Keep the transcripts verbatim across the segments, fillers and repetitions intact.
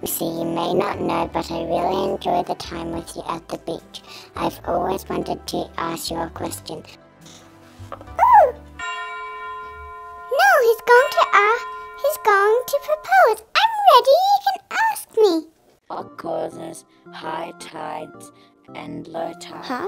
So you may not know, but I really enjoy the time with you at the beach. I've always wanted to ask you a question. Ooh! No, he's going to ask. He's going to propose. I'm ready. You can ask me. What causes high tides and low tides? Huh?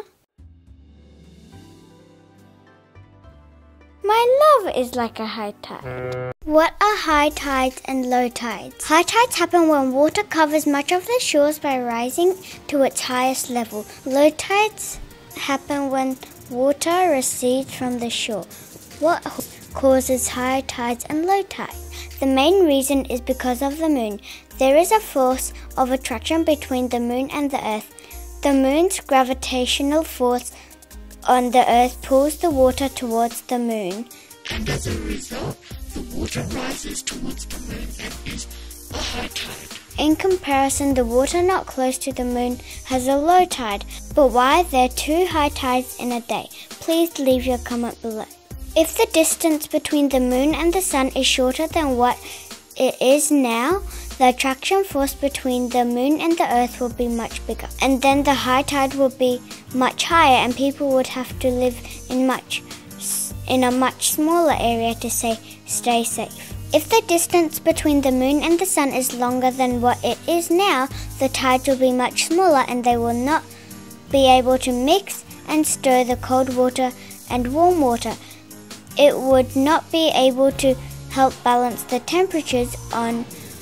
My love is like a high tide. What are high tides and low tides? High tides happen when water covers much of the shores by rising to its highest level. Low tides happen when water recedes from the shore. What causes high tides and low tides? The main reason is because of the moon. There is a force of attraction between the moon and the earth. The moon's gravitational force on the earth pulls the water towards the moon. And as a result, the water rises towards the moon and is a high tide. In comparison, the water not close to the moon has a low tide. But why are there two high tides in a day? Please leave your comment below. If the distance between the moon and the sun is shorter than what it is now, the attraction force between the moon and the earth will be much bigger. And then the high tide will be much higher and people would have to live in much in a much smaller area to say, stay safe. If the distance between the moon and the sun is longer than what it is now, the tides will be much smaller and they will not be able to mix and stir the cold water and warm water. It would not be able to help balance the temperatures on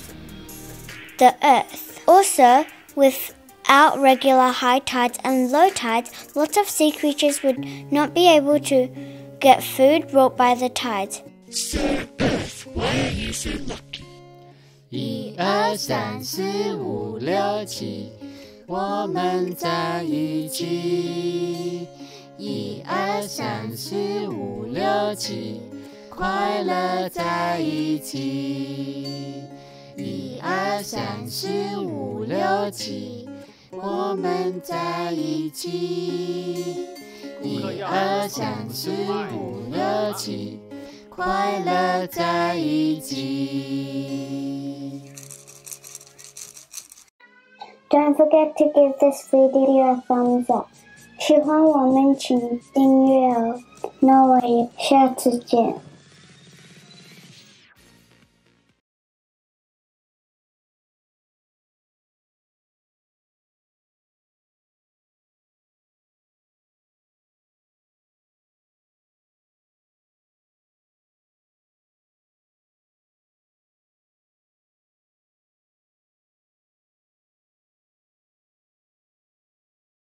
the earth. Also, without regular high tides and low tides, lots of sea creatures would not be able to get food brought by the tides. So, Earth, why are you so lucky? 一二三四五六七，我们在一起。一二三四五六七，快乐在一起。一二三四五六七，我们在一起。一二三四五六七，快乐在一起。 Don't forget to give this video a thumbs up. 喜欢我们请订阅哦。那我也下次见。